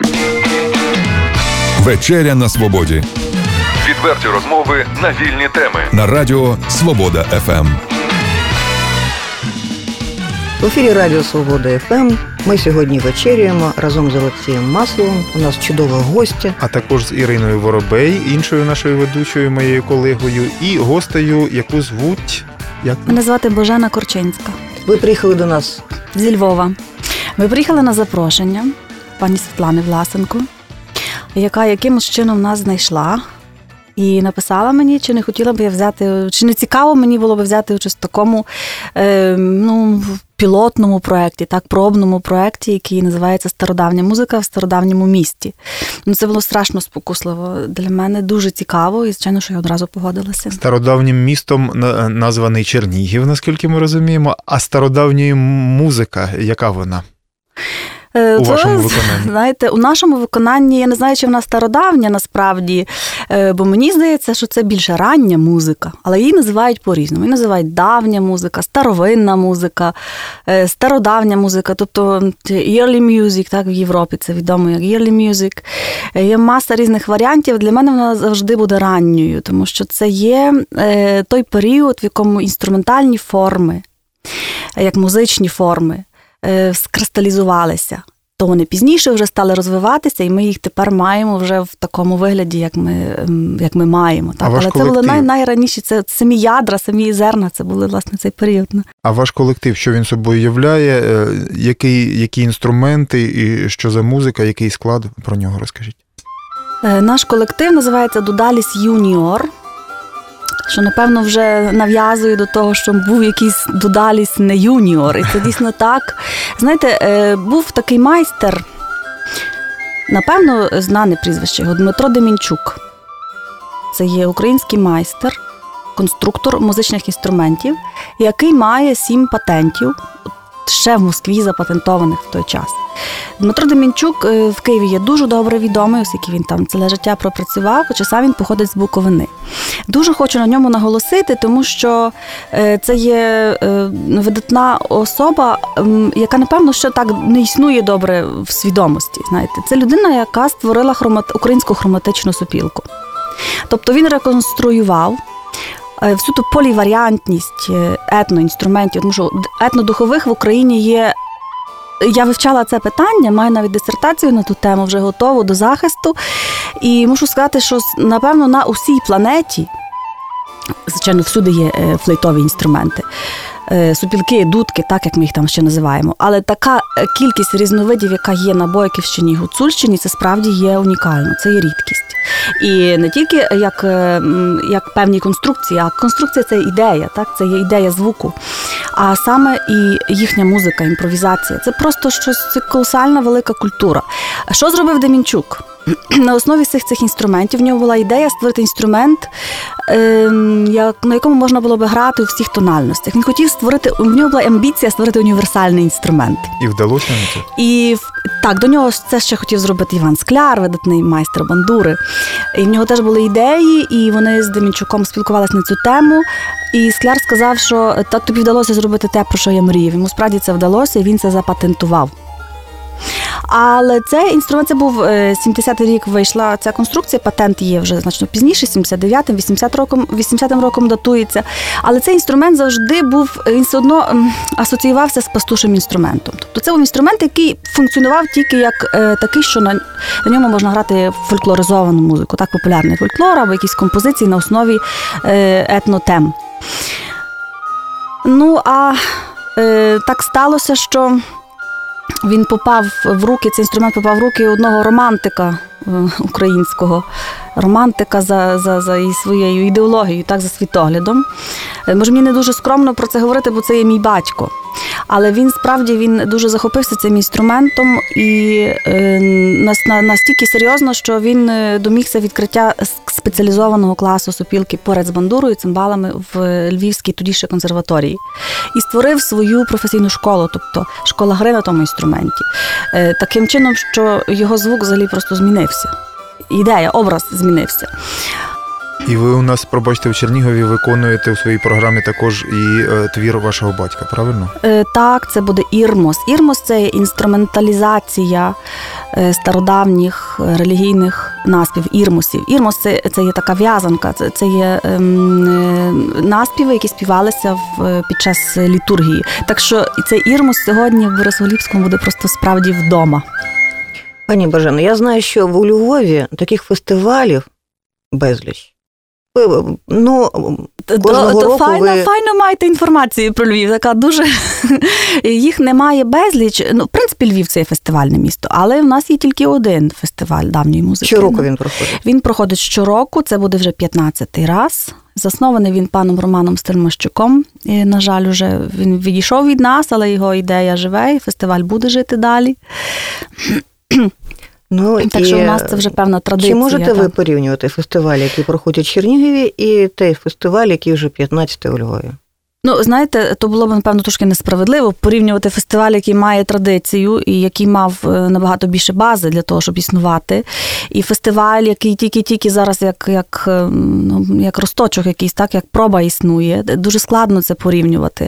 Вечеря на свободі. Відверті розмови на вільні теми. На радіо Свобода ФМ. В ефірі Радіо Свобода ФМ. Ми сьогодні вечеряємо разом з Олексієм Масловим. У нас чудова гостя. А також з Іриною Воробей, іншою нашою ведучою, моєю колегою, і гостею, яку звуть... Як? Мене звати Божена Корчинська. Ви приїхали до нас зі Львова. Ми приїхали на запрошення пані Світлани Власенко, яка якимось чином нас знайшла і написала мені, чи не хотіла б я взяти, чи не цікаво мені було б взяти участь в такому пілотному проєкті, так, пробному проєкті, який називається «Стародавня музика в стародавньому місті». Це було страшно спокусливо для мене, дуже цікаво, і, звичайно, що я одразу погодилася. Стародавнім містом названий Чернігів, наскільки ми розуміємо, а стародавня музика, яка вона? У вашому виконанні? Знаєте, у нашому виконанні, я не знаю, чи вона стародавня насправді, бо мені здається, що це більше рання музика, але її називають по-різному. Її називають давня музика, старовинна музика, стародавня музика, тобто early music, так, в Європі це відомо як early music. Є маса різних варіантів, для мене вона завжди буде ранньою, тому що це є той період, в якому інструментальні форми, як музичні форми, скристалізувалися. То вони пізніше вже стали розвиватися, і ми їх тепер маємо вже в такому вигляді, як ми маємо. Так? Але це були найраніші, це самі ядра, самі зерна, це були, власне, цей період. А ваш колектив, що він собою являє, які інструменти і що за музика, який склад? Про нього розкажіть. Наш колектив називається «Дудаліс Юніор», що, напевно, вже нав'язує до того, що був якийсь Дудаліс не юніор. І це дійсно так. Знаєте, був такий майстер, напевно, знане прізвище його, Дмитро Демінчук. Це є український майстер, конструктор музичних інструментів, який має 7 патентів, ще в Москві запатентованих в той час. Дмитро Демінчук в Києві є дуже добре відомий, оскільки він там ціле життя пропрацював, хоча сам він походить з Буковини. Дуже хочу на ньому наголосити, тому що це є видатна особа, яка, напевно, ще так не існує добре в свідомості. Знаєте, це людина, яка створила українську хроматичну сопілку. Тобто він реконструював всю ту поліваріантність етноінструментів, тому що етнодухових в Україні є. Я вивчала це питання, маю навіть дисертацію на ту тему, вже готову до захисту. І мушу сказати, що, напевно, на усій планеті, звичайно, всюди є флейтові інструменти, сопілки, дудки, так, як ми їх там ще називаємо. Але така кількість різновидів, яка є на Бойківщині і Гуцульщині, це справді є унікально, це є рідкість. І не тільки як певні конструкції, а конструкція – це ідея, так? Це є ідея звуку. А саме і їхня музика, імпровізація. Це просто щось, це колосальна велика культура. Що зробив Демінчук? На основі всіх цих інструментів в нього була ідея створити інструмент, на якому можна було би грати у всіх тональностях. Він хотів створити, у нього була амбіція створити універсальний інструмент. І вдалося на це? І так, до нього це ще хотів зробити Іван Скляр, видатний майстер бандури. І в нього теж були ідеї, і вони з Демінчуком спілкувалися на цю тему. І Скляр сказав, що так тобі вдалося зробити те, про що я мріяв. Йому справді це вдалося, і він це запатентував. Але цей інструмент, це був 70-й рік вийшла ця конструкція, патент є вже значно пізніше, 79-м, 80-м роком датується. Але цей інструмент завжди був, він все одно асоціювався з пастушим інструментом. Тобто це був інструмент, який функціонував тільки як такий, що на ньому можна грати фольклоризовану музику, так, популярний фольклор або якісь композиції на основі етнотем. Ну, а так сталося, що він попав в руки, цей інструмент попав в руки одного романтика українського, романтика за своєю ідеологією, так, за світоглядом. Може, мені не дуже скромно про це говорити, бо це є мій батько. Але він, справді, він дуже захопився цим інструментом і настільки серйозно, що він домігся відкриття спеціалізованого класу сопілки поряд з бандурою, цимбалами в Львівській тоді ще консерваторії. І створив свою професійну школу, тобто школа гри на тому інструменті. Таким чином, що його звук взагалі просто змінився. Ідея, образ змінився. І ви у нас, пробачте, в Чернігові виконуєте у своїй програмі також і твір вашого батька, правильно? Так, це буде ірмос. Ірмос – це інструменталізація стародавніх релігійних наспів, ірмосів. Ірмос – це є така в'язанка, це є наспіви, які співалися під час літургії. Так що цей ірмос сьогодні в Борисоглібському буде просто справді вдома. Пані Бажено, я знаю, що у Львові таких фестивалів безліч. Кожного року файно маєте інформацію про Львів, така дуже... Їх немає безліч. В принципі, Львів – це є фестивальне місто, але в нас є тільки один фестиваль давньої музики. Щороку він проходить? Він проходить щороку, це буде вже 15-й раз. Заснований він паном Романом Стельмощуком. І, на жаль, уже він відійшов від нас, але його ідея живе, і фестиваль буде жити далі. Так що у нас це вже певна традиція. Чи можете ви порівнювати фестиваль, який проходить в Чернігові, і той фестиваль, який вже 15-й у Львові? Знаєте, то було б, напевно, трошки несправедливо порівнювати фестиваль, який має традицію і який мав набагато більше бази для того, щоб існувати, і фестиваль, який тільки зараз як росточок якийсь, так, як проба існує. Дуже складно це порівнювати.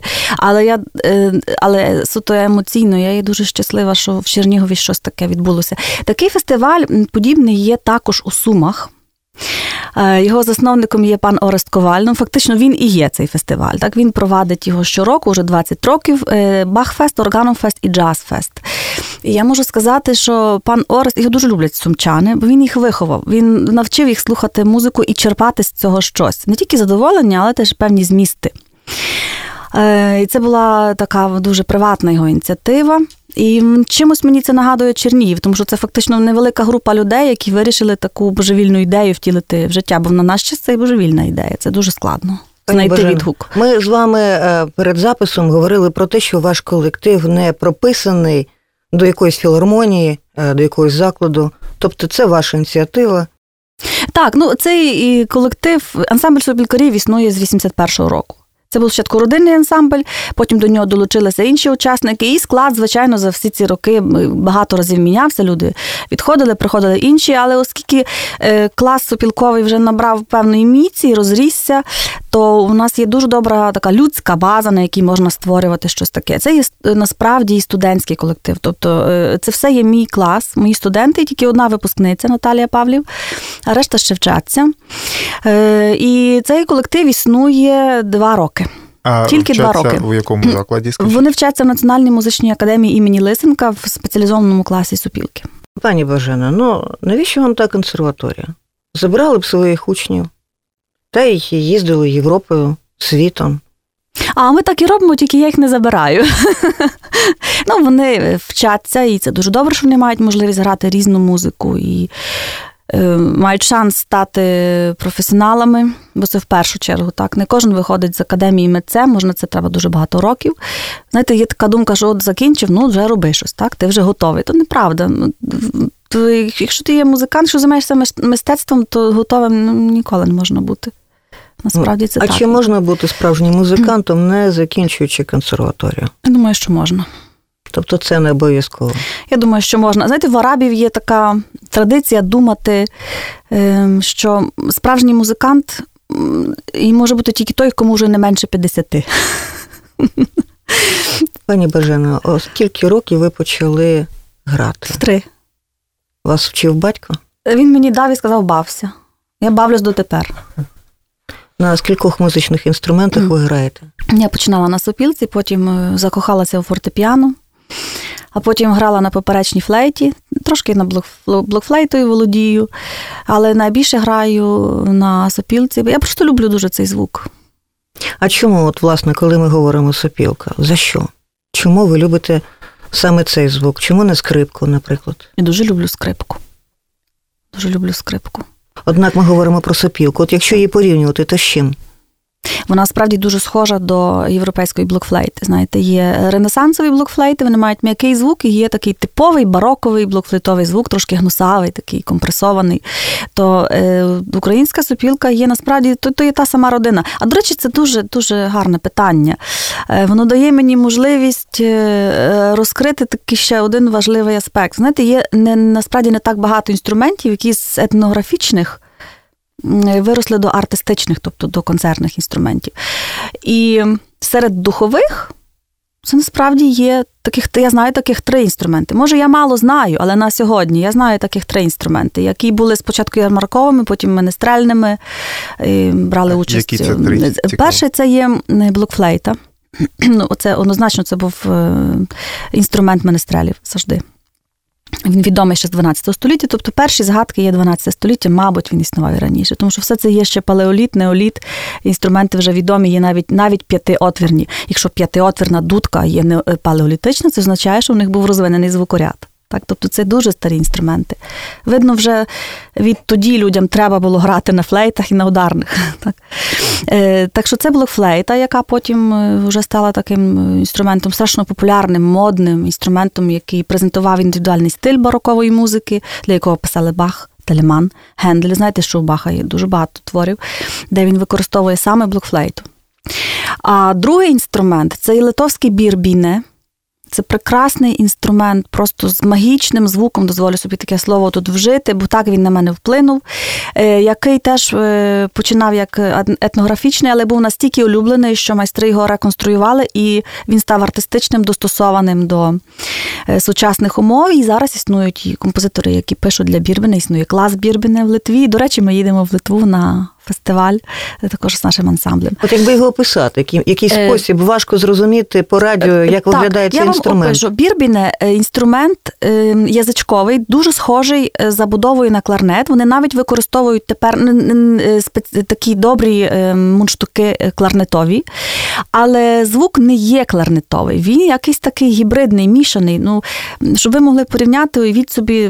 Але суто емоційно я є дуже щаслива, що в Чернігові щось таке відбулося. Такий фестиваль подібний є також у Сумах. Його засновником є пан Орест Коваль. Фактично він і є цей фестиваль. Так, він провадить його щороку, вже 20 років. Бах-фест, Органом-фест і Джаз-фест. І я можу сказати, що пан Орест, його дуже люблять сумчани, бо він їх виховав. Він навчив їх слухати музику і черпати з цього щось. Не тільки задоволення, але теж певні змісти. І це була така дуже приватна його ініціатива. І чимось мені це нагадує Чернігів, тому що це фактично невелика група людей, які вирішили таку божевільну ідею втілити в життя, бо на наш час це і божевільна ідея. Це дуже складно знайти відгук. Ми з вами перед записом говорили про те, що ваш колектив не прописаний до якоїсь філармонії, до якогось закладу. Тобто це ваша ініціатива. Так, цей колектив, ансамбль сопілкарів існує з 81-го року. Це був спочатку родинний ансамбль, потім до нього долучилися інші учасники, і склад, звичайно, за всі ці роки багато разів мінявся, люди відходили, приходили інші, але оскільки клас сопілковий вже набрав певної міці, розрісся, то у нас є дуже добра така людська база, на якій можна створювати щось таке. Це є насправді і студентський колектив, тобто це все є мій клас, мої студенти, тільки одна випускниця Наталія Павлів, а решта ще вчаться. І цей колектив існує 2 роки. Тільки 2 роки. У якому закладі, скажіть? Вони вчаться в Національній музичній академії імені Лисенка в спеціалізованому класі сопілки. Пані Бажено, навіщо вам та консерваторія? Забрали б своїх учнів, та й їздили Європою, світом. А ми так і робимо, тільки я їх не забираю. Вони вчаться, і це дуже добре, що вони мають можливість грати різну музику і мають шанс стати професіоналами, бо це в першу чергу, так. Не кожен виходить з академії митцем, можна це треба дуже багато років. Знаєте, є така думка, що от закінчив, вже роби щось, так, ти вже готовий. То неправда. Якщо ти є музикант, що займаєшся мистецтвом, то готовим ніколи не можна бути. Насправді це так. А чи можна бути справжнім музикантом, не закінчуючи консерваторію? Я думаю, що можна. Тобто це не обов'язково? Я думаю, що можна. Знаєте, в арабів є така традиція думати, що справжній музикант і може бути тільки той, кому вже не менше 50. Пані Бажено, скільки років ви почали грати? 3. Вас вчив батько? Він мені дав і сказав, бався. Я бавлюсь дотепер. На скількох музичних інструментах ви граєте? Я починала на сопілці, потім закохалася у фортепіано, а потім грала на поперечній флейті, трошки на блокфлейтою володію, але найбільше граю на сопілці. Я просто люблю дуже цей звук. А чому, власне, коли ми говоримо сопілка, за що? Чому ви любите саме цей звук? Чому не скрипку, наприклад? Я дуже люблю скрипку. Дуже люблю скрипку. Однак ми говоримо про сопілку. От якщо її порівнювати, то з чим? Вона справді дуже схожа до європейської блокфлейти. Знаєте, є ренесансові блокфлейти, вони мають м'який звук, і є такий типовий бароковий блокфлейтовий звук, трошки гнусавий, такий компресований. То українська сопілка є насправді, то є та сама родина. А, до речі, це дуже гарне питання. Воно дає мені можливість розкрити такий ще один важливий аспект. Знаєте, є насправді не так багато інструментів, які з етнографічних виросли до артистичних, тобто до концертних інструментів. І серед духових це насправді є я знаю таких 3 інструменти. Може, я мало знаю, але на сьогодні я знаю таких 3 інструменти, які були спочатку ярмарковими, потім менестрельними, брали участь. Які це 3? Перший це є блокфлейта. Це однозначно це був інструмент менестрелів завжди. Він відомий ще з 12 століття, тобто перші згадки є 12 століття, мабуть, він існував і раніше, тому що все це є ще палеоліт, неоліт, інструменти вже відомі, є навіть 5-отвірні. Якщо 5-отвірна дудка є не палеолітична, це означає, що в них був розвинений звукоряд. Так, тобто це дуже старі інструменти. Видно, вже відтоді людям треба було грати на флейтах і на ударних. Так що це блокфлейта, яка потім вже стала таким інструментом страшно популярним, модним інструментом, який презентував індивідуальний стиль барокової музики, для якого писали Бах, Телеман, Гендель. Знаєте, що у Баха є дуже багато творів, де він використовує саме блокфлейту. А другий інструмент – це і литовський бірбіне. Це прекрасний інструмент, просто з магічним звуком, дозволю собі таке слово тут вжити, бо так він на мене вплинув, який теж починав як етнографічний, але був настільки улюблений, що майстри його реконструювали, і він став артистичним, достосованим до сучасних умов, і зараз існують і композитори, які пишуть для бірбіне, існує клас бірбіне в Литві. До речі, ми їдемо в Литву на фестиваль, також з нашим ансамблем. От якби його описати, який спосіб важко зрозуміти по радіо, як виглядає цей інструмент? Я вам опишу. Бірбіне – інструмент язичковий, дуже схожий забудовою на кларнет. Вони навіть використовують тепер такі добрі мундштуки кларнетові, але звук не є кларнетовий. Він якийсь такий гібридний, мішаний. Щоб ви могли порівняти, уявіть собі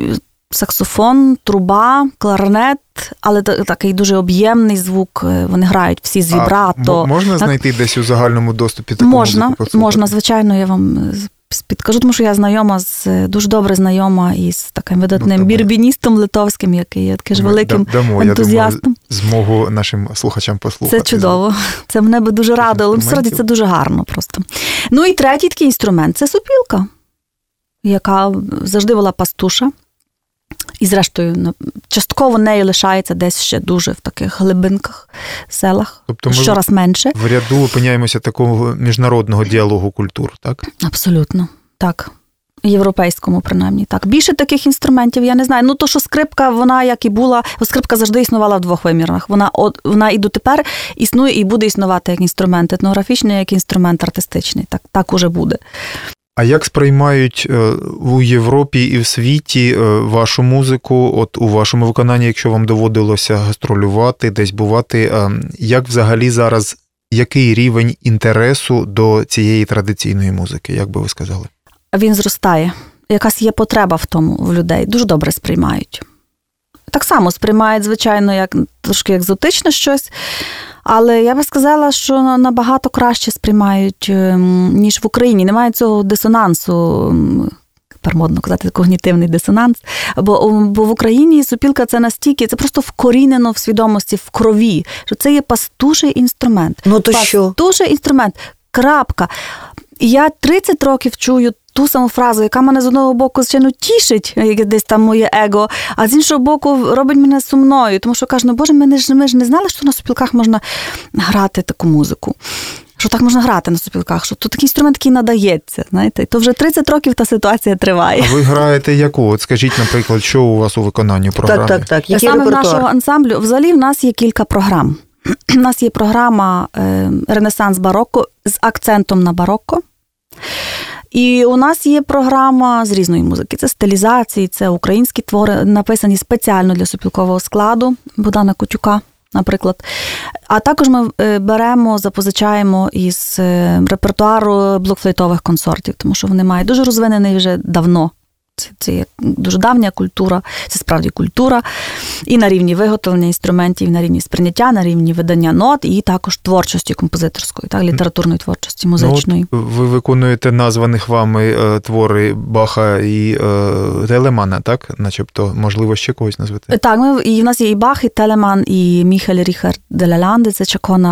саксофон, труба, кларнет, але такий дуже об'ємний звук, вони грають всі з вібрато. Можна знайти десь у загальному доступі таку музику? Можна, звичайно, я вам підкажу, тому що я дуже добре знайома із таким видатним бірбіністом литовським, який є таким великим ентузіастом. Я думаю, змогу нашим слухачам послухати. Це чудово. Це мене би дуже радило. Але насправді це дуже гарно просто. І третій такий інструмент – це сопілка, яка завжди була пастуша. І, зрештою, частково нею лишається десь ще дуже в таких глибинках, селах, тобто щораз менше. В ряду опиняємося такого міжнародного діалогу культур, так? Абсолютно, так. Європейському, принаймні, так. Більше таких інструментів я не знаю. То, що скрипка, вона як і була, скрипка завжди існувала в 2 вимірах. Вона і дотепер існує і буде існувати як інструмент етнографічний, як інструмент артистичний. Так уже буде. А як сприймають у Європі і в світі вашу музику, от у вашому виконанні, якщо вам доводилося гастролювати, десь бувати, як взагалі зараз, який рівень інтересу до цієї традиційної музики, як би ви сказали? Він зростає. Якась є потреба в тому в людей. Дуже добре сприймають. Так само сприймають, звичайно, трошки екзотичне щось, але я би сказала, що набагато краще сприймають, ніж в Україні. Немає цього дисонансу, тепер модно казати, когнітивний дисонанс, бо в Україні сопілка це настільки, це просто вкорінено в свідомості, в крові, що це є пастуший інструмент. Пастуший інструмент, крапка. Я 30 років чую ту саму фразу, яка мене з одного боку, звичайно, тішить, як десь там моє его, а з іншого боку робить мене сумною, тому що кажу, Боже, ми ж не знали, що на сопілках можна грати таку музику. Що так можна грати на сопілках, що тут такий інструмент, який надається, знаєте. І то вже 30 років та ситуація триває. А ви граєте яку? От скажіть, наприклад, що у вас у виконанні програми? Так. Який саме репертуар? в нашого ансамблю, взагалі в нас є кілька програм. У нас є програма «Ренесанс барокко» з акцентом на барокко. І у нас є програма з різної музики. Це стилізації, це українські твори, написані спеціально для сопілкового складу Богдана Котюка, наприклад. А також ми запозичаємо із репертуару блокфлейтових консортів, тому що вони мають дуже розвинений вже давно. Це є дуже давня культура, це справді культура. І на рівні виготовлення інструментів, і на рівні сприйняття, на рівні видання нот, і також творчості композиторської, так, літературної творчості, музичної. Ви виконуєте названих вами твори Баха і Телемана, так? Начебто, можливо, ще когось назвати? Так, і в нас є і Бах, і Телеман, і Міхель Ріхард де ла Ланде, це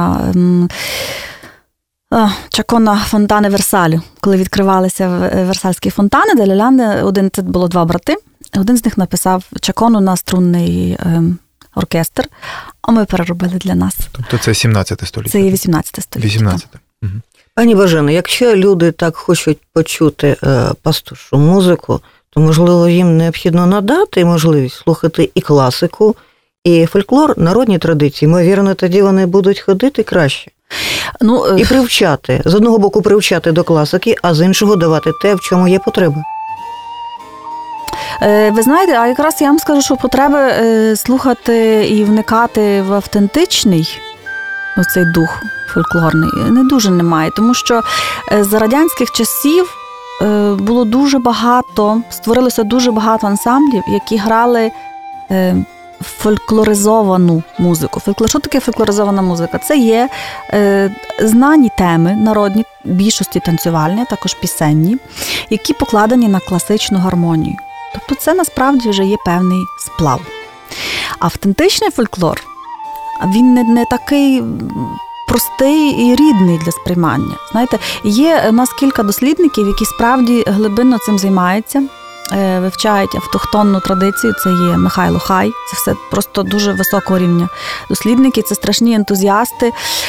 Чакона фонтани Версалю. Коли відкривалися версальські фонтани, де ла Ланде, це було 2 брати. Один з них написав чакону на струнний оркестр, а ми переробили для нас. Тобто це 17 століття? Це є 18 століття. 18. Угу. Пані Божено, якщо люди так хочуть почути пастушу музику, то, можливо, їм необхідно надати можливість слухати і класику, і фольклор, народні традиції. Ймовірно, тоді вони будуть ходити краще. І привчати. З одного боку привчати до класики, а з іншого давати те, в чому є потреба. Ви знаєте, а якраз я вам скажу, що потреби слухати і вникати в автентичний оцей дух фольклорний не дуже немає, тому що за радянських часів було дуже багато, створилося дуже багато ансамблів, які грали фольклоризовану музику. Що таке фольклоризована музика? Це є знані теми, народні, більшості танцювальні, а також пісенні, які покладені на класичну гармонію. Тобто це насправді вже є певний сплав. Автентичний фольклор, він не такий простий і рідний для сприймання. Знаєте, є у нас кілька дослідників, які справді глибинно цим займаються, вивчають автохтонну традицію, це є Михайло Хай, це все просто дуже високого рівня дослідники, це страшні ентузіасти,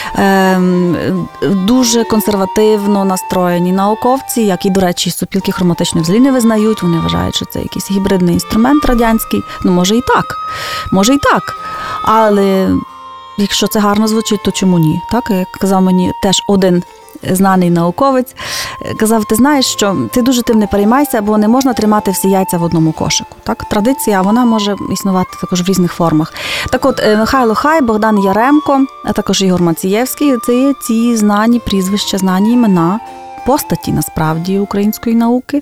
дуже консервативно настроєні науковці, які, до речі, сопілки хроматичної взагалі не визнають, вони вважають, що це якийсь гібридний інструмент радянський, може і так, але якщо це гарно звучить, то чому ні? Так, як казав мені теж один знаний науковець, казав, ти знаєш, що ти дуже тим не переймайся, бо не можна тримати всі яйця в одному кошику. Так? Традиція, вона може існувати також в різних формах. Так от, Михайло Хай, Богдан Яремко, а також Ігор Мацієвський, це є ці знані прізвища, знані імена, постаті, насправді, української науки,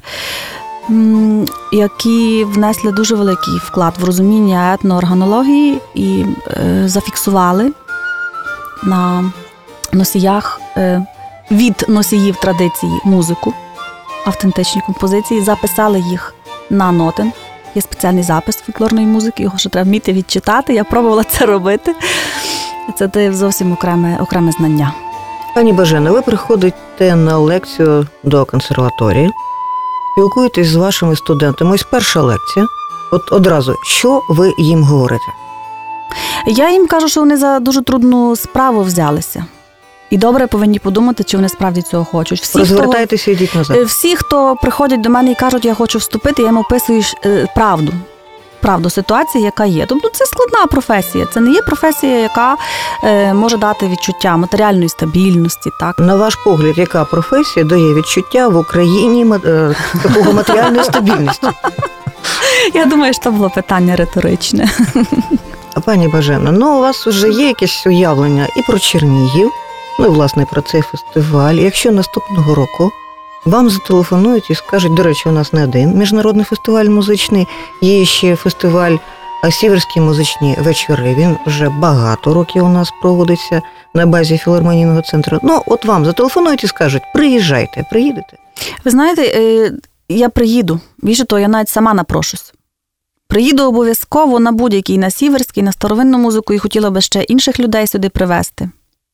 які внесли дуже великий вклад в розуміння етноорганології і зафіксували на носіях від носіїв традиції музику, автентичні композиції, записали їх на нотен. Є спеціальний запис фольклорної музики, його ще треба вміти відчитати. Я пробувала це робити. Це зовсім окреме знання. Пані Божено, ви приходите на лекцію до консерваторії, спілкуєтесь з вашими студентами. Ось перша лекція. От одразу, що ви їм говорите? Я їм кажу, що вони за дуже трудну справу взялися. І добре повинні подумати, чи вони справді цього хочуть. Розвертайтеся і йдіть назад. Всі, хто приходять до мене і кажуть, я хочу вступити, я їм описую правду ситуації, яка є. Тобто це складна професія. Це не є професія, яка може дати відчуття матеріальної стабільності. Так? На ваш погляд, яка професія дає відчуття в Україні такого матеріальної стабільності? Я думаю, що це було питання риторичне. Пані Божено, у вас вже є якесь уявлення і про Чернігів, і, власне, про цей фестиваль. Якщо наступного року вам зателефонують і скажуть, до речі, у нас не один міжнародний фестиваль музичний, є ще фестиваль «Сіверські музичні вечори». Він вже багато років у нас проводиться на базі філармонійного центру. От вам зателефонують і скажуть, приїжджайте, приїдете? Ви знаєте, я приїду. Більше того, я навіть сама напрошусь. Приїду обов'язково на будь-який, на Сіверський, на старовинну музику, і хотіла би ще інших людей сюди привезти.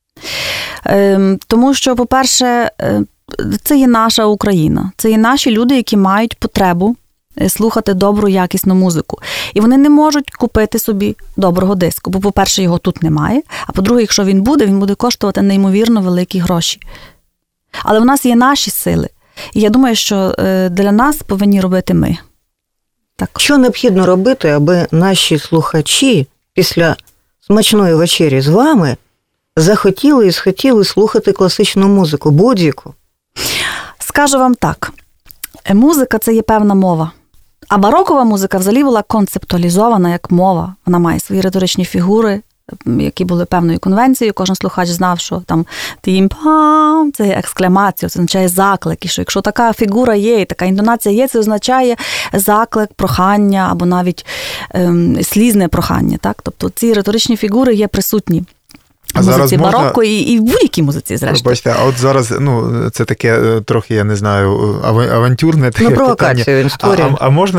Тому що, по-перше, це є наша Україна. Це є наші люди, які мають потребу слухати добру, якісну музику. І вони не можуть купити собі доброго диску. Бо, по-перше, його тут немає. А по-друге, якщо він буде коштувати неймовірно великі гроші. Але в нас є наші сили. І я думаю, що для нас повинні робити ми. Так. Що необхідно робити, аби наші слухачі після смачної вечері з вами захотіли і схотіли слухати класичну музику, будь-яку? Скажу вам так. Музика – це є певна мова. А барокова музика взагалі була концептуалізована як мова. Вона має свої риторичні фігури, які були певною конвенцією. Кожен слухач знав, що там тім-пам – це екскламація, це означає заклик. І що якщо така фігура є, і така інтонація є, це означає заклик, прохання або навіть слізне прохання. Так? Тобто ці риторичні фігури є присутні А зараз музиці бароко і в будь-якій музиці, зрештою. Бачите, а от зараз, це таке трохи, я не знаю, авантюрне таке провокація він створює.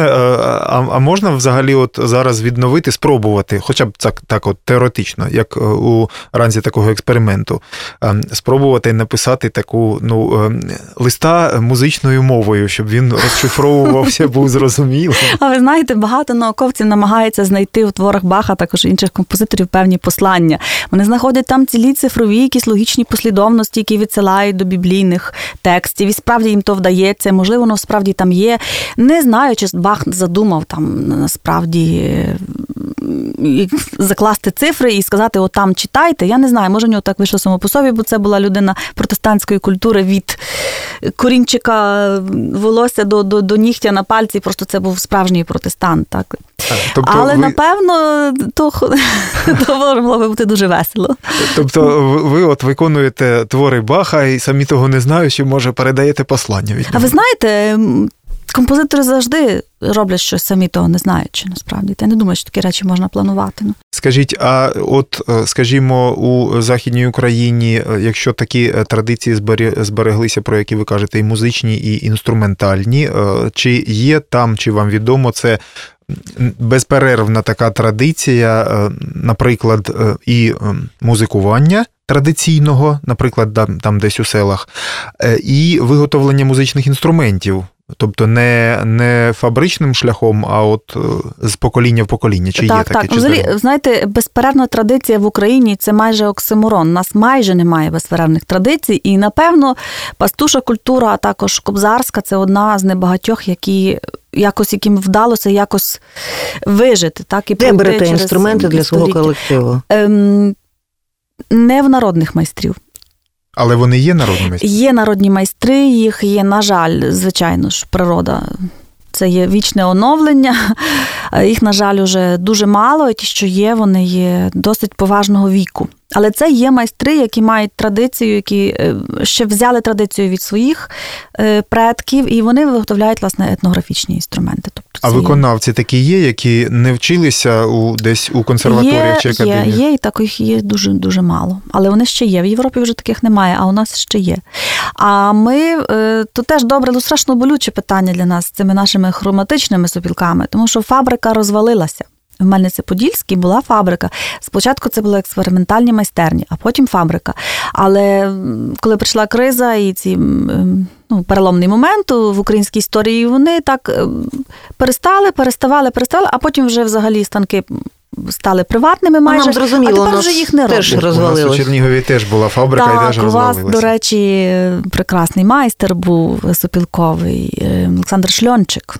А можна взагалі от зараз відновити, спробувати, хоча б так от теоретично, як у ранзі такого експерименту, спробувати написати таку, листа музичною мовою, щоб він розшифровувався, був зрозумілим. А ви знаєте, багато науковців намагаються знайти у творах Баха, також інших композиторів, певні послання. Вони знаходять там цілі цифрові якісь логічні послідовності, які відсилають до біблійних текстів. І справді їм то вдається. Можливо, воно справді там є. Не знаю, чи Бах задумав там насправді закласти цифри і сказати, от там читайте. Я не знаю, може в нього так вийшло само по собі, бо це була людина протестантської культури від корінчика волосся до нігтя на пальці. Просто це був справжній протестант. Так. Тобто але, напевно, то могло би бути дуже весело. Тобто ви от виконуєте твори Баха і самі того не знаючи, може, передаєте послання від нього. А ви знаєте, композитори завжди роблять щось самі того не знаючи, насправді. Я не думаю, що такі речі можна планувати. Скажіть, а от, скажімо, у Західній Україні, якщо такі традиції збереглися, про які ви кажете, і музичні, і інструментальні, чи є там, чи вам відомо, це безперервна така традиція, наприклад, і музикування традиційного, наприклад, там десь у селах, і виготовлення музичних інструментів? Тобто не фабричним шляхом, а от з покоління в покоління. Чи є таке? Так. Взагалі, знаєте, безперервна традиція в Україні – це майже оксиморон. У нас майже немає безперервних традицій. І, напевно, пастуша культура, а також кобзарська – це одна з небагатьох, яким вдалося якось вижити. Так, і де берете інструменти для свого колективу? Не в народних майстрів. Але вони є народні майстри? Є народні майстри, їх є, на жаль, звичайно ж, природа. Це є вічне оновлення. Їх, на жаль, уже дуже мало, і ті, що є, вони є досить поважного віку. Але це є майстри, які мають традицію, які ще взяли традицію від своїх предків, і вони виготовляють, власне, етнографічні інструменти. Тобто, а виконавці такі є, які не вчилися десь у консерваторіях чи академіях? Є, і таких є дуже-дуже мало. Але вони ще є. В Європі вже таких немає, а у нас ще є. А ми, то теж добре, страшно болюче питання для нас з цими нашими хроматичними сопілками, тому що фабрика розвалилася. В Мельниці-Подільській була фабрика. Спочатку це були експериментальні майстерні, а потім фабрика. Але коли прийшла криза і ці переломний момент в українській історії, вони так переставали, а потім вже взагалі станки стали приватними майже, нам зрозуміло, а тепер вже їх не роблять. Теж у нас у Чернігові теж була фабрика і теж розвалилася. У вас, до речі, прекрасний майстер був сопілковий, Олександр Шльончик.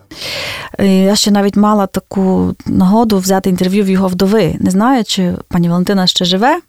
Я ще навіть мала таку нагоду взяти інтерв'ю в його вдови. Не знаю, чи пані Валентина ще живе.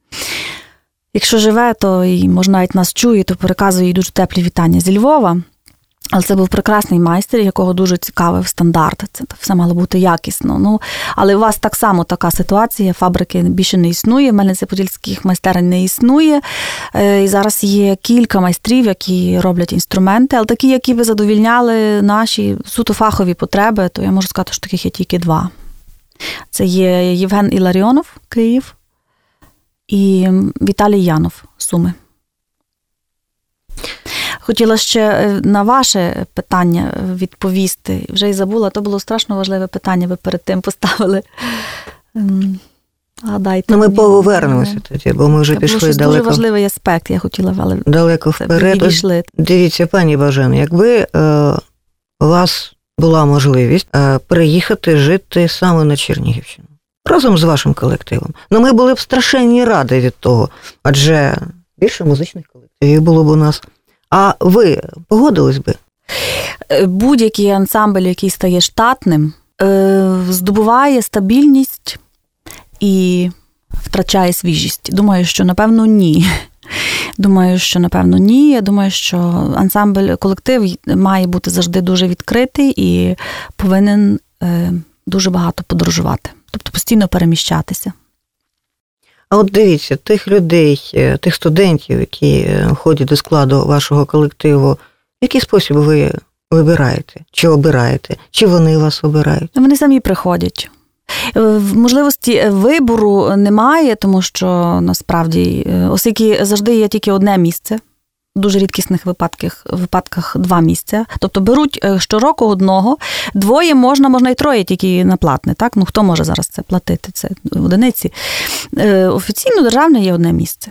Якщо живе, то і, може, навіть нас чує, то переказує їй дуже теплі вітання зі Львова. Але це був прекрасний майстер, якого дуже цікавив стандарт. Це все мало бути якісно. Але у вас так само така ситуація, фабрики більше не існує, в Мельниці-Подільських майстерень не існує. І зараз є кілька майстрів, які роблять інструменти, але такі, які би задовільняли наші суто фахові потреби, то я можу сказати, що таких є тільки два. Це є Євген Іларіонов, Київ, і Віталій Янов, Суми. Хотіла ще на ваше питання відповісти. Вже й забула, то було страшно важливе питання, ви перед тим поставили. Гадайте. Ми повернемося тоді, бо ми вже пішли далеко. Дуже важливий аспект, я хотіла, але далеко вперед. Дивіться, пані Бажено, якби у вас була можливість приїхати жити саме на Чернігівщину, разом з вашим колективом, ми були б страшенні раді від того, адже більше музичних колективів було б у нас. А ви погодились би? Будь-який ансамбль, який стає штатним, здобуває стабільність і втрачає свіжість. Думаю, що напевно ні. Я думаю, що ансамбль, колектив має бути завжди дуже відкритий і повинен дуже багато подорожувати. Тобто постійно переміщатися. А от дивіться, тих людей, тих студентів, які входять до складу вашого колективу, в який спосіб ви вибираєте? Чи обираєте? Чи вони вас обирають? Вони самі приходять. Можливості вибору немає, тому що насправді, оскільки завжди є тільки одне місце, в дуже рідкісних випадках 2 місця. Тобто беруть щороку одного, 2 можна і 3 тільки на платне. Так? Хто може зараз це платити? Це одиниці. Офіційно державне є одне місце.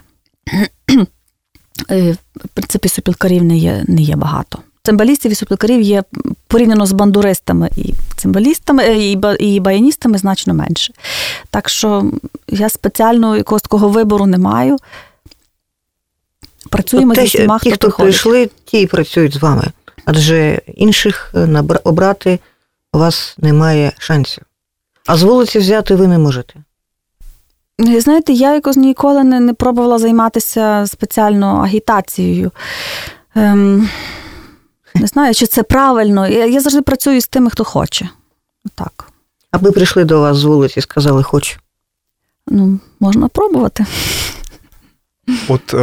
В принципі, сопілкарів не є багато. Цимбалістів і сопілкарів є порівняно з бандуристами і цимбалістами, і баяністами значно менше. Так що я спеціально якогось такого вибору не маю. Працюємо зі всіма, хто приходить. Ті, хто прийшли, ті і працюють з вами. Адже інших обрати у вас немає шансів. А з вулиці взяти ви не можете. Знаєте, я якось ніколи не пробувала займатися спеціально агітацією. Не знаю, чи це правильно. Я завжди працюю з тими, хто хоче. Так. Аби прийшли до вас з вулиці і сказали «хочу». Можна пробувати. От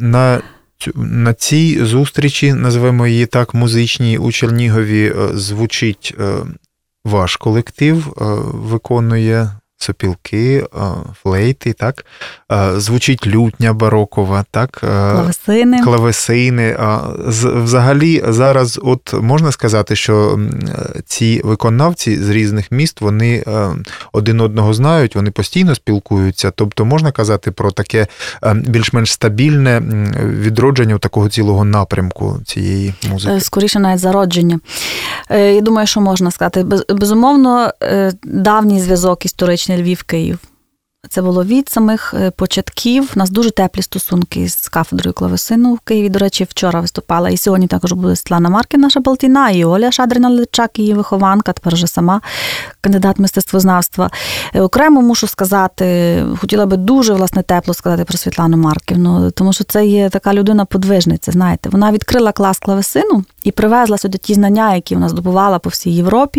на цій зустрічі, називаємо її так, музичній, у Чернігові, звучить ваш колектив, виконує сопілки, флейти, так? Звучить лютня барокова, так? Клавесини. Взагалі, зараз от можна сказати, що ці виконавці з різних міст, вони один одного знають, вони постійно спілкуються, тобто можна казати про таке більш-менш стабільне відродження такого цілого напрямку цієї музики? Скоріше навіть зародження. Я думаю, що можна сказати. Безумовно, давній зв'язок історичний Львів-Київ. Це було від самих початків. У нас дуже теплі стосунки з кафедрою клавесину в Києві. До речі, вчора виступала. І сьогодні також буде Світлана Марків, наша Балтіна, і Оля Шадрина-Личак, її вихованка, тепер вже сама кандидат мистецтвознавства. Окремо мушу сказати, хотіла би дуже, власне, тепло сказати про Світлану Марківну, тому що це є така людина-подвижниця, знаєте. Вона відкрила клас клавесину і привезла сюди ті знання, які вона здобувала по всій Європі.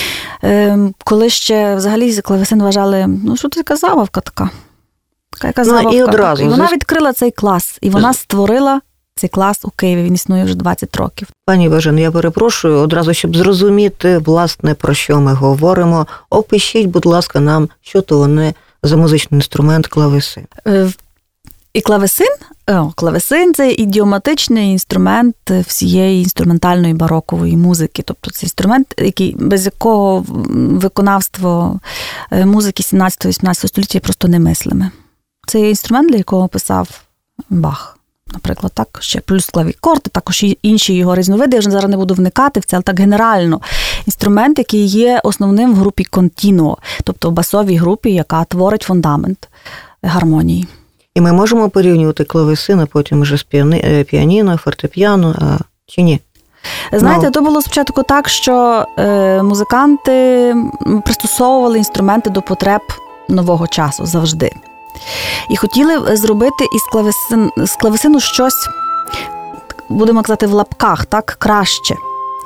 Коли ще взагалі клавесин вважали, що це така забавка така. Яка забавка. І одразу. І вона відкрила цей клас, і вона створила цей клас у Києві. Він існує вже 20 років. Пані Бажено, я перепрошую, одразу, щоб зрозуміти, власне, про що ми говоримо, опишіть, будь ласка, нам, що то вони за музичний інструмент клавесин. І клавесин – це ідіоматичний інструмент всієї інструментальної барокової музики. Тобто це інструмент, без якого виконавство музики 17-18 століття просто немислиме. Це є інструмент, для якого писав Бах. Наприклад, так, ще плюс клавікорди, також і інші його різновиди. Я вже зараз не буду вникати в це, але так генерально. Інструмент, який є основним в групі контінуо, тобто в басовій групі, яка творить фундамент гармонії. І ми можемо порівнювати клавесин, а потім вже з піаніно, фортепіано, чи ні? Знаєте, то було спочатку так, що музиканти пристосовували інструменти до потреб нового часу завжди. І хотіли зробити з клавесину щось, будемо казати, в лапках, так, краще.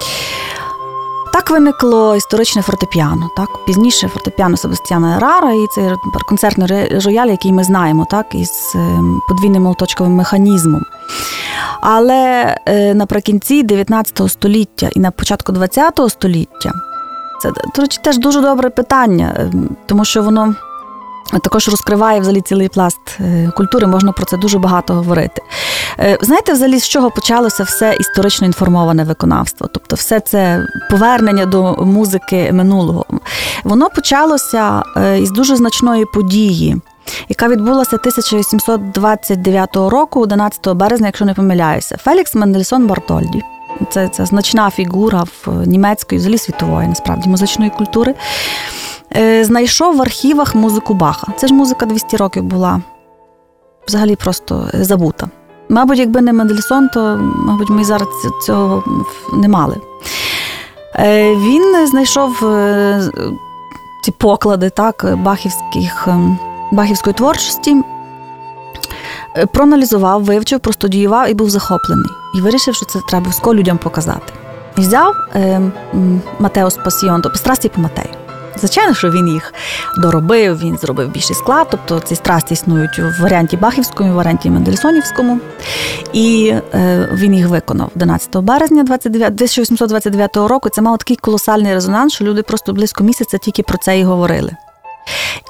Так виникло історичне фортепіано. Так? Пізніше фортепіано Себастьяна Ерара і цей концертний рояль, який ми знаємо, так? Із подвійним молоточковим механізмом. Але наприкінці 19 століття і на початку 20 століття, це, до речі, теж дуже добре питання, тому що воно також розкриває взагалі цілий пласт культури, можна про це дуже багато говорити. Знаєте, взагалі, з чого почалося все історично інформоване виконавство? Тобто все це повернення до музики минулого. Воно почалося із дуже значної події, яка відбулася 1829 року, 11 березня, якщо не помиляюся. Фелікс Мендельсон Бартольді. Це значна фігура в німецької, взагалі світової, насправді, музичної культури. Знайшов в архівах музику Баха. Це ж музика 200 років була взагалі просто забута. Мабуть, якби не Мендельсон, то, мабуть, ми зараз цього не мали. Він знайшов ці поклади, так, бахівської творчості, проаналізував, вивчив, простудіював і був захоплений. І вирішив, що це треба обов'язково людям показати. І взяв Матеус Пасіон, тобто страсті по Матею. Звичайно, що він їх доробив, він зробив більший склад, тобто ці страсті існують в варіанті Бахівському, в варіанті Мендельсонівському. І він їх виконав 11 березня 1829 року. Це мало такий колосальний резонанс, що люди просто близько місяця тільки про це і говорили.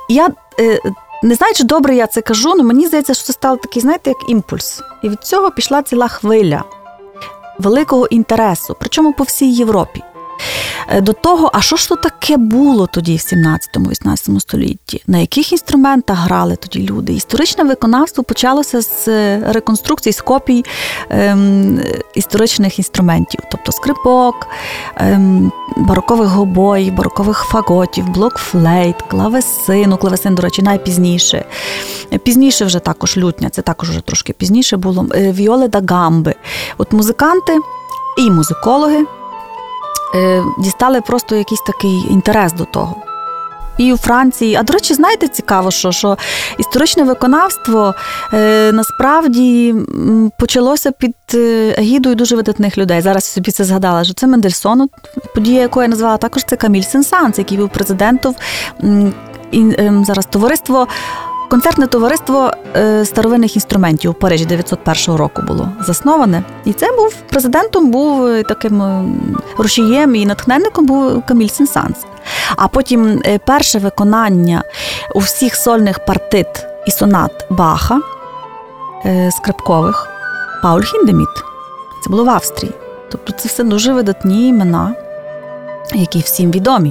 я не знаю, чи добре я це кажу, але мені здається, що це стало такий, знаєте, як імпульс. І від цього пішла ціла хвиля великого інтересу, причому по всій Європі. До того, а що ж то таке було тоді в 17-18 столітті? На яких інструментах грали тоді люди? Історичне виконавство почалося з реконструкцій, з копій історичних інструментів. Тобто скрипок, барокових гобоїв, барокових фаготів, блокфлейт, клавесину. Клавесин, до речі, найпізніше. Пізніше вже також лютня, це також вже трошки пізніше було. Віоли да гамби. От музиканти і музикологи дістали просто якийсь такий інтерес до того. І у Франції. А, до речі, знаєте, цікаво, що історичне виконавство насправді почалося під егідою дуже видатних людей. Зараз я собі це згадала, що це Мендельсон, подія, яку я назвала, також це Каміль Сен-Санс, який був президентом зараз концертне товариство старовинних інструментів у Парижі 901 року було засноване. І це був президентом, був таким рушієм і натхненником був Каміль Сен-Санс. А потім перше виконання у всіх сольних партит і сонат Баха, скрипкових, Пауль Хіндеміт. Це було в Австрії. Тобто це все дуже видатні імена, які всім відомі.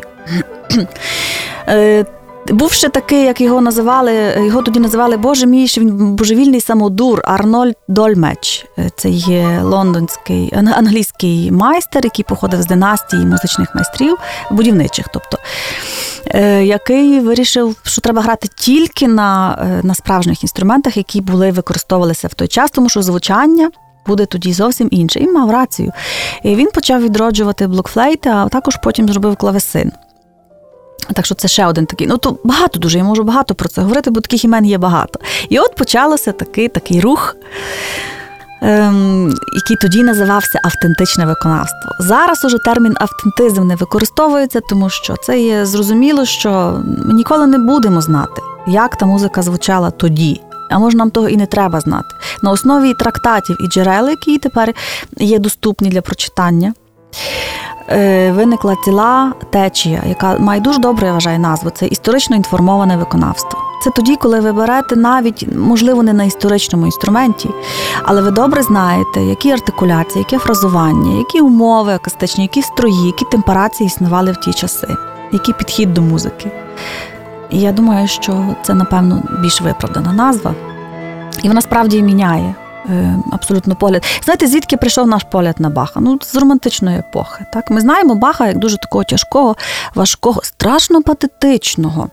Був ще такий, як його тоді називали, боже мій, що він божевільний самодур, Арнольд Дольмеч. Це є англійський майстер, який походив з династії музичних майстрів, будівничих, тобто, який вирішив, що треба грати тільки на справжніх інструментах, які використовувалися в той час, тому що звучання буде тоді зовсім інше. І мав рацію. І він почав відроджувати блокфлейти, а також потім зробив клавесин. Так що це ще один такий. То багато дуже, я можу багато про це говорити, бо таких імен є багато. І от почалося такий рух, який тоді називався автентичне виконавство. Зараз уже термін автентизм не використовується, тому що це є зрозуміло, що ми ніколи не будемо знати, як та музика звучала тоді. А може нам того і не треба знати. На основі трактатів і джерел, які тепер є доступні для прочитання, виникла ціла течія, яка має дуже добре, я вважаю, назву. Це історично інформоване виконавство. Це тоді, коли ви берете навіть, можливо, не на історичному інструменті, але ви добре знаєте, які артикуляції, яке фразування, які умови акустичні, які строї, які темперації існували в ті часи, який підхід до музики. І я думаю, що це, напевно, більш виправдана назва. І вона справді міняє абсолютно погляд. Знаєте, звідки прийшов наш погляд на Баха? З романтичної епохи. Так? Ми знаємо Баха як дуже такого тяжкого, важкого, страшно патетичного.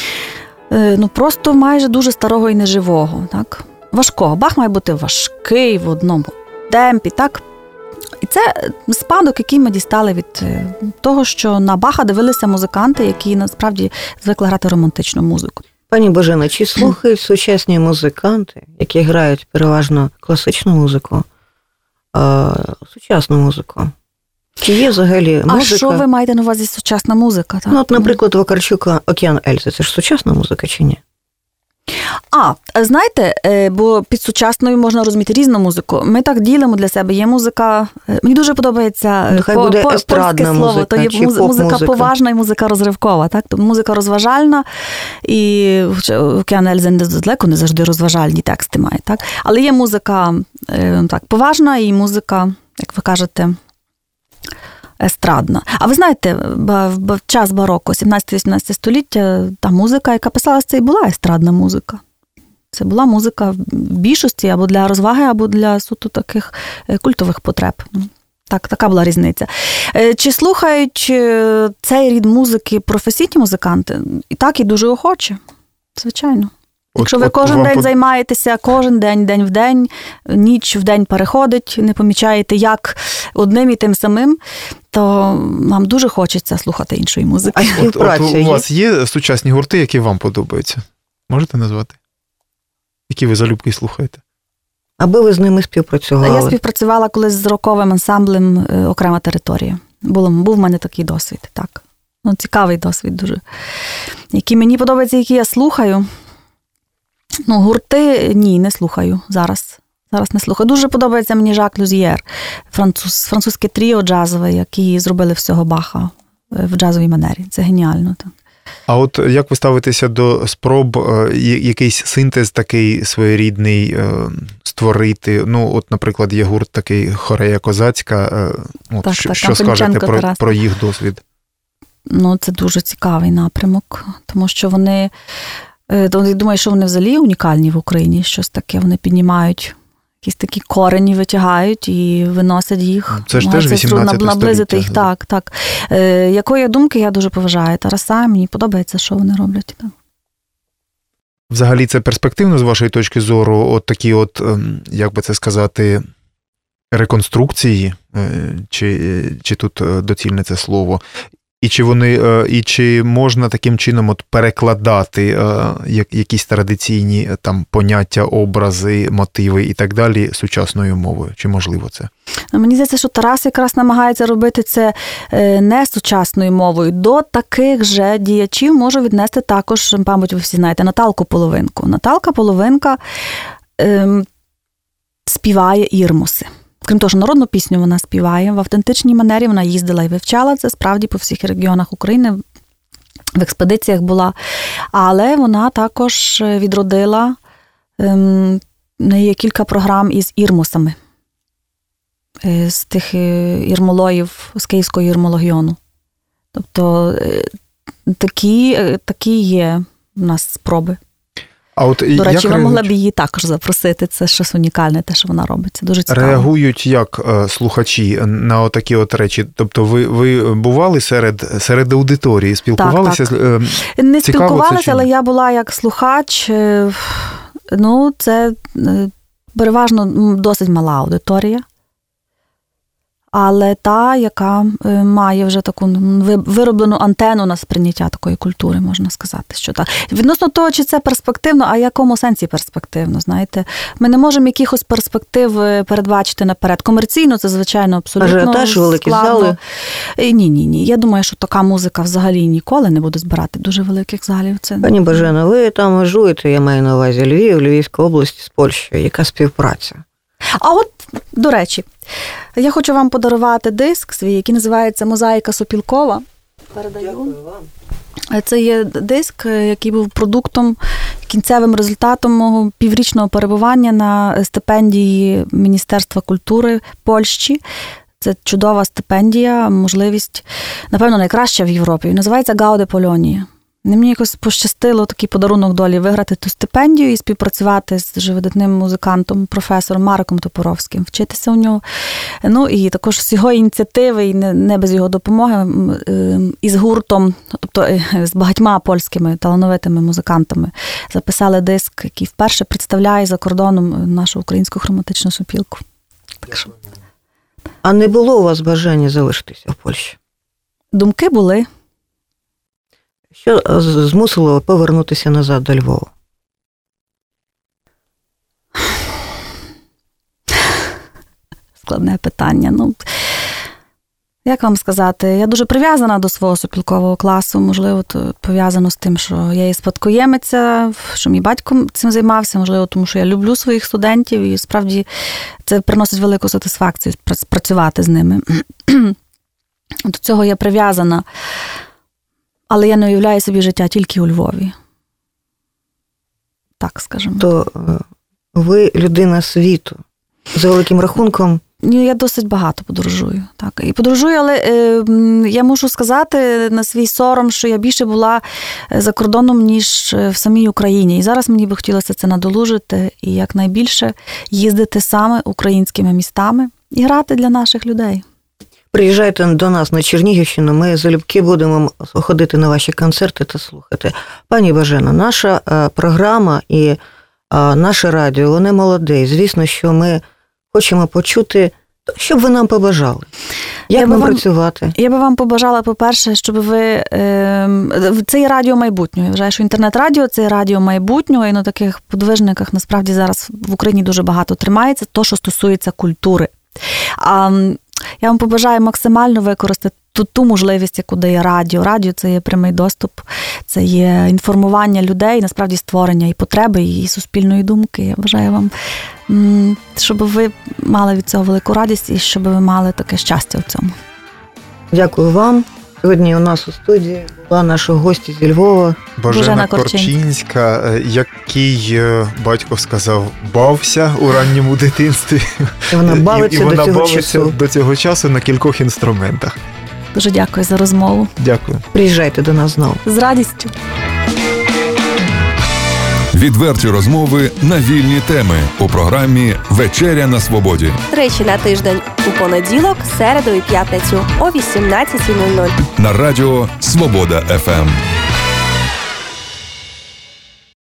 Просто майже дуже старого і неживого. Так? Важкого. Бах має бути важкий в одному темпі. Так? І це спадок, який ми дістали від того, що на Баха дивилися музиканти, які насправді звикли грати романтичну музику. Пані Божено, чи слухають сучасні музиканти, які грають переважно класичну музику, сучасну музику? Чи є взагалі музика? А що ви маєте на увазі сучасна музика? Так? Наприклад, Вакарчук «Океан Ельзи» – це ж сучасна музика чи ні? Знаєте, бо під сучасною можна розуміти різну музику. Ми так ділимо для себе. Є музика, мені дуже подобається польське слово, то є музика поважна і музика розривкова. Так? Тобто музика розважальна, і «Океан Ельзи» далеко не завжди розважальні тексти має. Так? Але є музика поважна і музика, як ви кажете, естрадна. А ви знаєте, в час бароко, 17-18 століття, та музика, яка писалася, це і була естрадна музика. Це була музика в більшості або для розваги, або для суто таких культових потреб. Так, така була різниця. Чи слухають цей рід музики професійні музиканти? І так, і дуже охоче. Звичайно. Якщо ви кожен день займаєтеся, кожен день, день в день, ніч в день переходить, не помічаєте, як одним і тим самим, то вам дуже хочеться слухати іншої музики. От у вас є сучасні гурти, які вам подобаються? Можете назвати? Які ви залюбки слухаєте? Аби ви з ними співпрацювали? Я співпрацювала колись з роковим ансамблем «Окрема територія». Був в мене такий досвід, так. Цікавий досвід дуже. Які мені подобаються, які я слухаю. Гурти, ні, не слухаю зараз. Зараз не слухаю. Дуже подобається мені Жак Люзьєр, французьке тріо джазове, які зробили всього Баха в джазовій манері. Це геніально. Так. А от як ви ставитеся до спроб якийсь синтез такий своєрідний створити? Ну, от, наприклад, є гурт такий «Хорея козацька». От, що скажете про їх досвід? Ну, це дуже цікавий напрямок, тому що вони, я думаю, що вони взагалі унікальні в Україні, щось таке, вони піднімають якісь такі корені, витягають і виносять їх. Це ж теж 18 століття. Наблизити їх, так. Якої думки, я дуже поважаю Тараса, мені подобається, що вони роблять. Так. Взагалі це перспективно з вашої точки зору, от такі от, як би це сказати, реконструкції, чи тут доцільне це слово, і чи можна таким чином от перекладати якісь традиційні там поняття, образи, мотиви і так далі сучасною мовою? Чи можливо це? Мені здається, що Тарас якраз намагається робити це не сучасною мовою. До таких же діячів може віднести також, мабуть, ви всі знаєте, Наталку Половинку. Наталка Половинка співає ірмуси. Крім того, що народну пісню вона співає, в автентичній манері вона їздила і вивчала це, справді, по всіх регіонах України, в експедиціях була. Але вона також відродила, в неї є кілька програм із ірмусами, з тих ірмологів, з Київського ірмологіону. Тобто такі є в нас спроби. А от до речі, ви могли б її також запросити. Це щось унікальне, те, що вона робить. Це дуже цікаво. Реагують як слухачі на отакі от речі? Тобто ви бували серед аудиторії, спілкувалися? Так. Не спілкувалася, але я була як слухач. Ну, це переважно досить мала аудиторія. Але та, яка має вже таку вироблену антенну на сприйняття такої культури, можна сказати, що так. Відносно того, чи це перспективно, а в якому сенсі перспективно, знаєте. Ми не можемо якихось перспектив передбачити наперед. Комерційно це, звичайно, абсолютно ажіотаж, великі зали? Ні. Я думаю, що така музика взагалі ніколи не буде збирати дуже великих залів. Це... Пані Божено, ви там межуєте, я маю на увазі Львів, Львівська область з Польщею. Яка співпраця? А от, до речі, я хочу вам подарувати диск свій, який називається «Мозаїка Сопілкова». Передаю. Дякую вам. Це є диск, який був продуктом, кінцевим результатом мого піврічного перебування на стипендії Міністерства культури Польщі. Це чудова стипендія, можливість, напевно, найкраща в Європі. Називається «Гауде Полонія». Мені якось пощастило такий подарунок долі виграти ту стипендію і співпрацювати з дуже видатним музикантом, професором Мариком Топоровським, вчитися у нього. Ну і також з його ініціативи, і не без його допомоги, із гуртом, тобто з багатьма польськими талановитими музикантами записали диск, який вперше представляє за кордоном нашу українську хроматичну сопілку. Так що... А не було у вас бажання залишитися в Польщі? Думки були. Що змусило повернутися назад до Львова? Складне питання. Ну, як вам сказати, я дуже прив'язана до свого сопілкового класу. Можливо, то пов'язано з тим, що я є спадкоємиця, що мій батько цим займався. Можливо, тому що я люблю своїх студентів і справді це приносить велику сатисфакцію працювати з ними. До цього я прив'язана. Але я не уявляю собі життя тільки у Львові. Так, скажімо. То ви людина світу. За великим рахунком. Я досить багато подорожую. Так. І подорожую, але я мушу сказати на свій сором, що я більше була за кордоном, ніж в самій Україні. І зараз мені би хотілося це надолужити і якнайбільше їздити саме українськими містами і грати для наших людей. Приїжджайте до нас на Чернігівщину, ми залюбки будемо ходити на ваші концерти та слухати. Пані Божено, наша програма і наше радіо, вони молоде. І звісно, що ми хочемо почути, що б ви нам побажали. Як нам працювати? Я би вам побажала, по-перше, щоб ви... Це є радіо майбутнього. Я вважаю, що інтернет-радіо – це радіо майбутнього, і на таких подвижниках насправді зараз в Україні дуже багато тримається, то, що стосується культури. Я вам побажаю максимально використати ту можливість, яку дає радіо. Радіо – це є прямий доступ, це є інформування людей, насправді створення і потреби, і суспільної думки. Я бажаю вам, щоб ви мали від цього велику радість і щоб ви мали таке щастя в цьому. Дякую вам. Сьогодні у нас у студії була наша гостя зі Львова. Божена Корчинська, який батько сказав, бався у ранньому дитинстві. І вона бавиться, і вона до цього бавиться часу. до цього часу на кількох інструментах. Дуже дякую за розмову. Дякую. Приїжджайте до нас знову. З радістю. Відверті розмови на вільні теми у програмі «Вечеря на свободі». Тричі на тиждень у понеділок, середу і п'ятницю о 18:00. На радіо «Свобода ФМ».